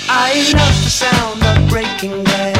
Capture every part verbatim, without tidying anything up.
I love the sound of breaking glass.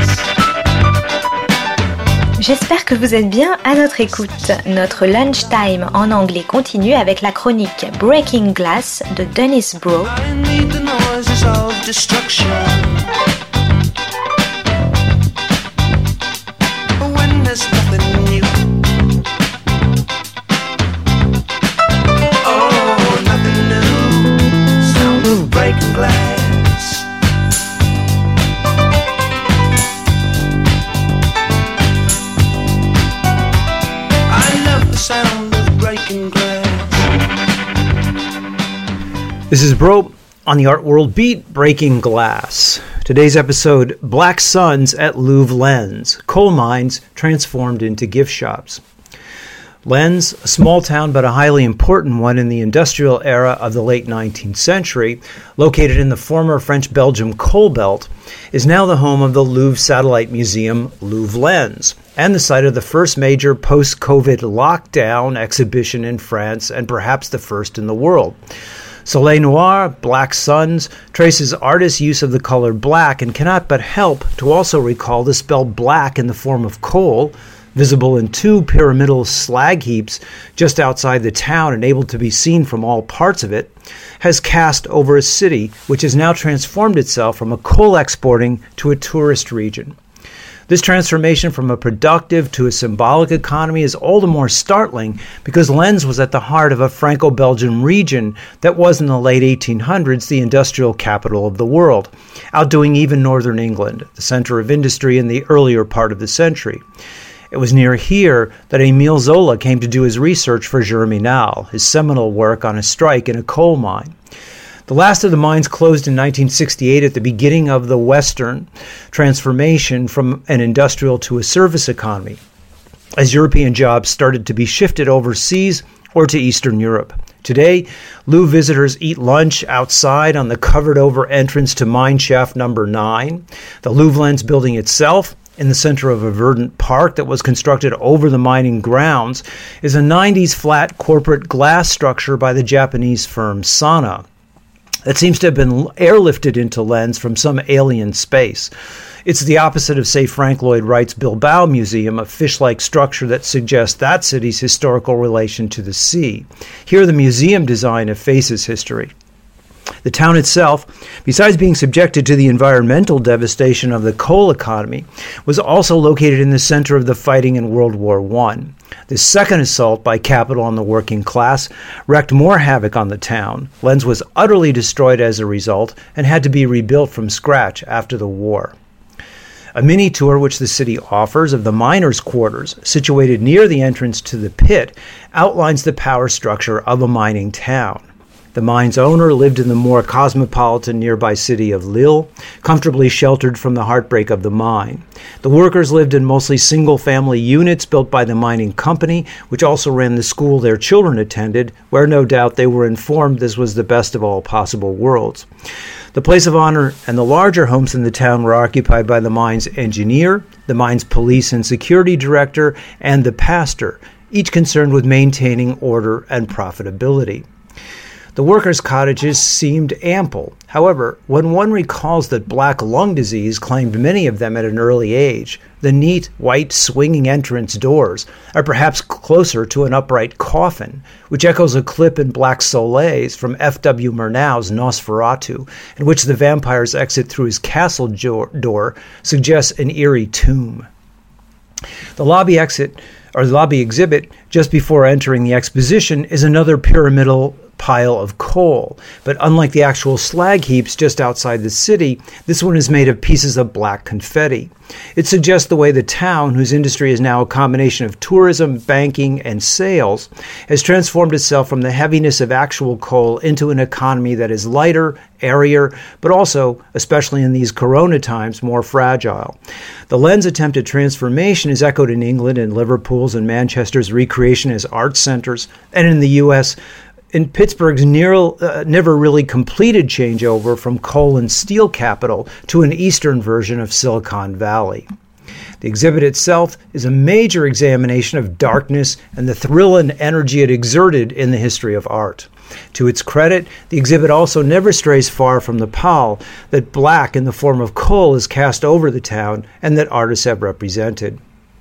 J'espère que vous êtes bien à notre écoute. Notre lunchtime en anglais continue avec la chronique Breaking Glass de Dennis Bro. I need the noises of destruction. When there's nothing new. Oh, nothing new. Sound of breaking glass. Sound of breaking glass. This is Bro on the Art World Beat, Breaking Glass. Today's episode, Black Suns at Louvre Lens, coal mines transformed into gift shops. Lens, a small town but a highly important one in the industrial era of the late nineteenth century, located in the former French-Belgium coal belt, is now the home of the Louvre Satellite Museum, Louvre Lens, and the site of the first major post-COVID lockdown exhibition in France and perhaps the first in the world. Soleil Noir, Black Suns, traces artists' use of the color black and cannot but help to also recall the spell black in the form of coal, visible in two pyramidal slag heaps just outside the town and able to be seen from all parts of it, has cast over a city which has now transformed itself from a coal exporting to a tourist region. This transformation from a productive to a symbolic economy is all the more startling because Lens was at the heart of a Franco-Belgian region that was in the late eighteen hundreds the industrial capital of the world, outdoing even northern England, the center of industry in the earlier part of the century. It was near here that Émile Zola came to do his research for Germinal, his seminal work on a strike in a coal mine. The last of the mines closed in nineteen sixty-eight at the beginning of the Western transformation from an industrial to a service economy, as European jobs started to be shifted overseas or to Eastern Europe. Today, Louvre visitors eat lunch outside on the covered-over entrance to mine shaft number nine. The Louvre Lens building itself, in the center of a verdant park that was constructed over the mining grounds, is a nineties flat corporate glass structure by the Japanese firm Sana. That seems to have been airlifted into Lens from some alien space. It's the opposite of, say, Frank Lloyd Wright's Bilbao Museum, a fish-like structure that suggests that city's historical relation to the sea. Here, the museum design effaces history. The town itself, besides being subjected to the environmental devastation of the coal economy, was also located in the center of the fighting in World War One. This second assault by capital on the working class wreaked more havoc on the town. Lens was utterly destroyed as a result and had to be rebuilt from scratch after the war. A mini tour which the city offers of the miners' quarters, situated near the entrance to the pit, outlines the power structure of a mining town. The mine's owner lived in the more cosmopolitan nearby city of Lille, comfortably sheltered from the heartbreak of the mine. The workers lived in mostly single-family units built by the mining company, which also ran the school their children attended, where no doubt they were informed this was the best of all possible worlds. The place of honor and the larger homes in the town were occupied by the mine's engineer, the mine's police and security director, and the pastor, each concerned with maintaining order and profitability. The workers' cottages seemed ample. However, when one recalls that black lung disease claimed many of them at an early age, the neat, white, swinging entrance doors are perhaps closer to an upright coffin, which echoes a clip in Black Soleil's from F W Murnau's Nosferatu, in which the vampire's exit through his castle door suggests an eerie tomb. The lobby exit, or the lobby exhibit, just before entering the exposition, is another pyramidal pile of coal, but unlike the actual slag heaps just outside the city, this one is made of pieces of black confetti. It suggests the way the town, whose industry is now a combination of tourism, banking, and sales, has transformed itself from the heaviness of actual coal into an economy that is lighter, airier, but also, especially in these corona times, more fragile. The Lens attempt at transformation is echoed in England and Liverpool's and Manchester's recreation as art centers, and in the U S in Pittsburgh's near, uh, never really completed changeover from coal and steel capital to an eastern version of Silicon Valley. The exhibit itself is a major examination of darkness and the thrill and energy it exerted in the history of art. To its credit, the exhibit also never strays far from the pall that black in the form of coal is cast over the town and that artists have represented.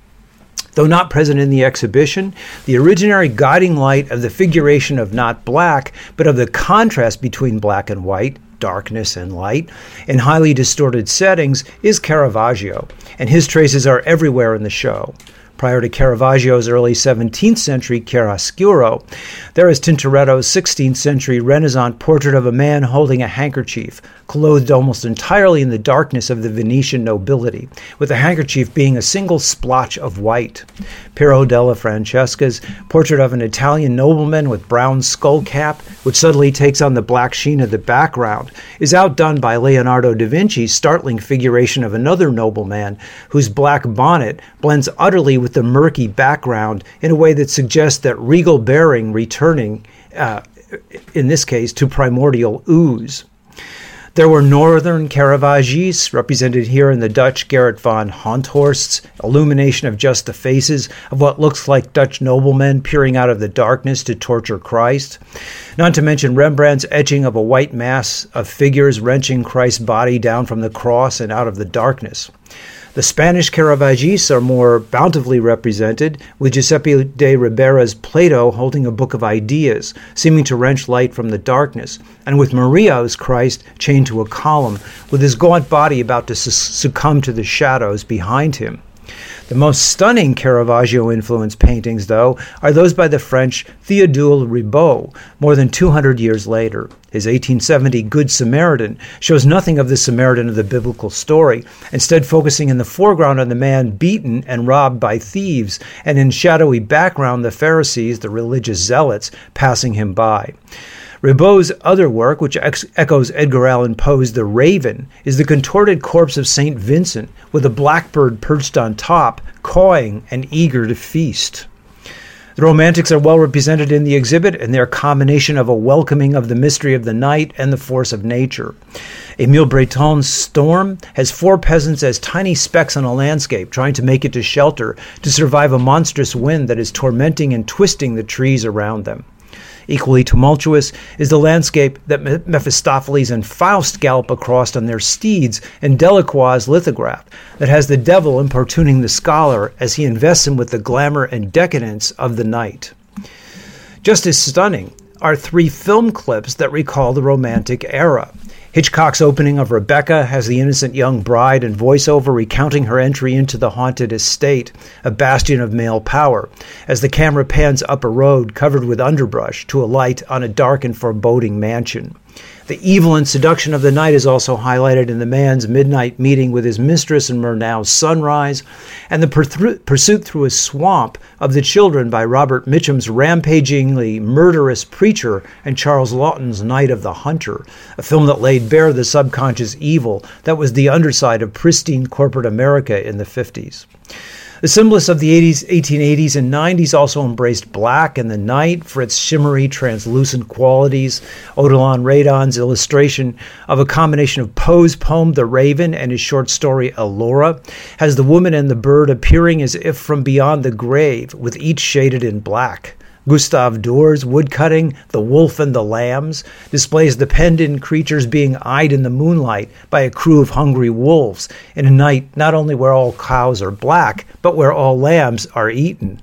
Though not present in the exhibition, the originary guiding light of the figuration of not black, but of the contrast between black and white, darkness and light, in highly distorted settings is Caravaggio, and his traces are everywhere in the show. Prior to Caravaggio's early seventeenth century chiaroscuro, there is Tintoretto's sixteenth century Renaissance portrait of a man holding a handkerchief, clothed almost entirely in the darkness of the Venetian nobility, with the handkerchief being a single splotch of white. Piero della Francesca's portrait of an Italian nobleman with brown skull cap, which suddenly takes on the black sheen of the background, is outdone by Leonardo da Vinci's startling figuration of another nobleman whose black bonnet blends utterly with the murky background in a way that suggests that regal bearing returning, uh, in this case, to primordial ooze. There were northern Caravaggi's, represented here in the Dutch Gerrit van Honthorst's illumination of just the faces of what looks like Dutch noblemen peering out of the darkness to torture Christ. Not to mention Rembrandt's etching of a white mass of figures wrenching Christ's body down from the cross and out of the darkness. The Spanish Caravaggi's are more bountifully represented, with Giuseppe de Ribera's Plato holding a book of ideas, seeming to wrench light from the darkness, and with Murillo's Christ chained to a column, with his gaunt body about to su- succumb to the shadows behind him. The most stunning Caravaggio-influenced paintings, though, are those by the French Théodule Ribaud, more than two hundred years later. His eighteen seventy Good Samaritan shows nothing of the Samaritan of the biblical story, instead focusing in the foreground on the man beaten and robbed by thieves, and in shadowy background the Pharisees, the religious zealots, passing him by. Ribaud's other work, which ex- echoes Edgar Allan Poe's The Raven, is the contorted corpse of Saint Vincent, with a blackbird perched on top, cawing and eager to feast. The Romantics are well represented in the exhibit in their combination of a welcoming of the mystery of the night and the force of nature. Émile Breton's Storm has four peasants as tiny specks on a landscape trying to make it to shelter to survive a monstrous wind that is tormenting and twisting the trees around them. Equally tumultuous is the landscape that Mephistopheles and Faust gallop across on their steeds in Delacroix's lithograph that has the devil importuning the scholar as he invests him with the glamour and decadence of the night. Just as stunning are three film clips that recall the Romantic era. Hitchcock's opening of Rebecca has the innocent young bride in voiceover recounting her entry into the haunted estate, a bastion of male power, as the camera pans up a road covered with underbrush to alight on a dark and foreboding mansion. The evil and seduction of the night is also highlighted in the man's midnight meeting with his mistress in Murnau's Sunrise, and the per- pursuit through a swamp of the children by Robert Mitchum's rampagingly murderous Preacher and Charles Laughton's Night of the Hunter, a film that laid bare the subconscious evil that was the underside of pristine corporate America in the fifties. The symbolists of the eighties, eighteen eighties and nineties also embraced black and the night for its shimmery, translucent qualities. Odilon Radon's illustration of a combination of Poe's poem The Raven and his short story Elora has the woman and the bird appearing as if from beyond the grave, with each shaded in black. Gustave Dore's woodcutting, The Wolf and the Lambs, displays the penned-in creatures being eyed in the moonlight by a crew of hungry wolves in a night not only where all cows are black, but where all lambs are eaten.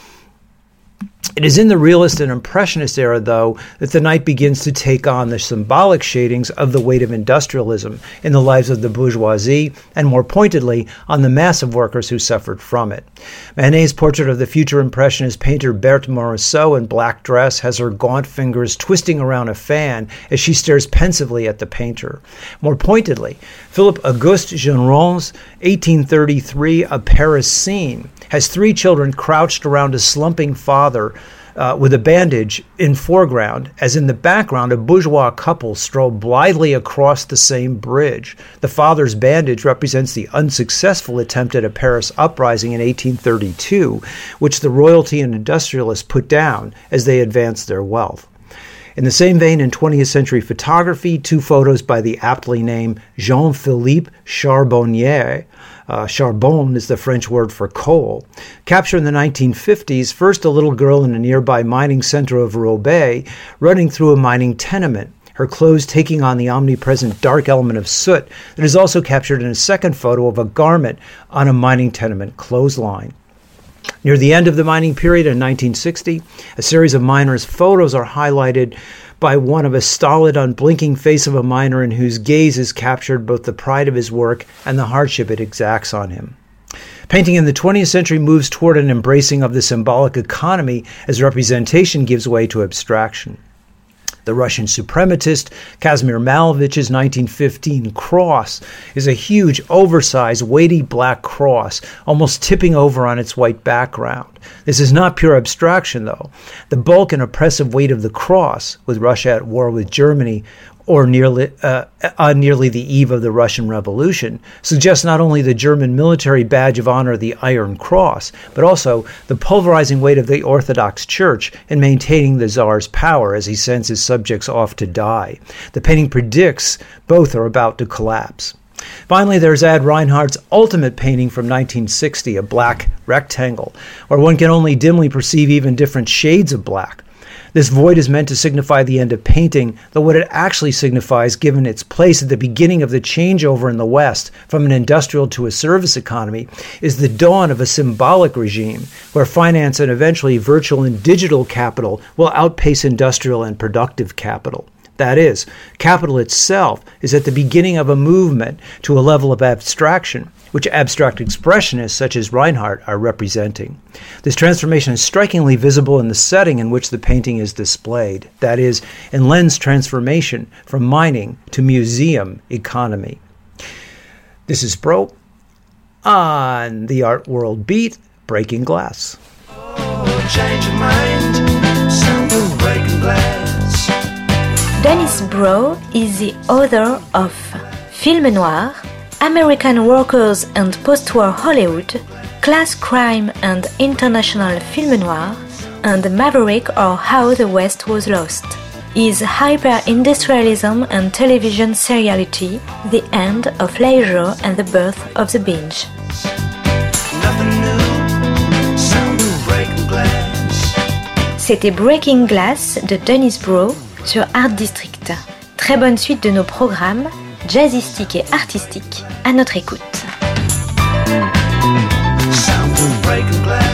It is in the realist and impressionist era, though, that the night begins to take on the symbolic shadings of the weight of industrialism in the lives of the bourgeoisie, and more pointedly, on the mass of workers who suffered from it. Manet's portrait of the future impressionist painter Berthe Morisot in black dress has her gaunt fingers twisting around a fan as she stares pensively at the painter. More pointedly, Philippe Auguste Géron's eighteen thirty-three A Paris Scene has three children crouched around a slumping father Uh, with a bandage in foreground, as in the background a bourgeois couple stroll blithely across the same bridge. The father's bandage represents the unsuccessful attempt at a Paris uprising in eighteen thirty-two, which the royalty and industrialists put down as they advanced their wealth. In the same vein, in twentieth century photography, two photos by the aptly named Jean-Philippe Charbonnier, uh, charbon is the French word for coal, captured in the nineteen fifties, first a little girl in a nearby mining center of Roubaix running through a mining tenement, her clothes taking on the omnipresent dark element of soot that is also captured in a second photo of a garment on a mining tenement clothesline. Near the end of the mining period in nineteen sixty, a series of miners' photos are highlighted by one of a stolid, unblinking face of a miner in whose gaze is captured both the pride of his work and the hardship it exacts on him. Painting in the twentieth century moves toward an embracing of the symbolic economy as representation gives way to abstraction. The Russian suprematist Kazimir Malevich's nineteen fifteen cross is a huge, oversized, weighty black cross, almost tipping over on its white background. This is not pure abstraction, though. The bulk and oppressive weight of the cross, with Russia at war with Germany, or nearly uh, on nearly the eve of the Russian Revolution, suggests not only the German military badge of honor, the Iron Cross, but also the pulverizing weight of the Orthodox Church in maintaining the Tsar's power as he sends his subjects off to die. The painting predicts both are about to collapse. Finally, there's Ad Reinhardt's ultimate painting from nineteen sixty, a black rectangle, where one can only dimly perceive even different shades of black. This void is meant to signify the end of painting, though what it actually signifies, given its place at the beginning of the changeover in the West from an industrial to a service economy, is the dawn of a symbolic regime where finance and eventually virtual and digital capital will outpace industrial and productive capital. That is, capital itself is at the beginning of a movement to a level of abstraction, which abstract expressionists such as Reinhardt are representing. This transformation is strikingly visible in the setting in which the painting is displayed, that is, in Len's transformation from mining to museum economy. This is Bro on the Art World Beat, Breaking Glass. Oh, change your mind, sound of breaking glass. Dennis Brough is the author of Film Noir, American Workers and Post-War Hollywood, Class Crime and International Film Noir, and Maverick or How the West Was Lost. Is hyper-industrialism and television seriality the end of leisure and the birth of the binge? Nothing new, sound of breaking glass. C'était Breaking Glass de Dennis Brough sur Art District. Très bonne suite de nos programmes, jazzistiques et artistiques, à notre écoute. Sound of breaking glass.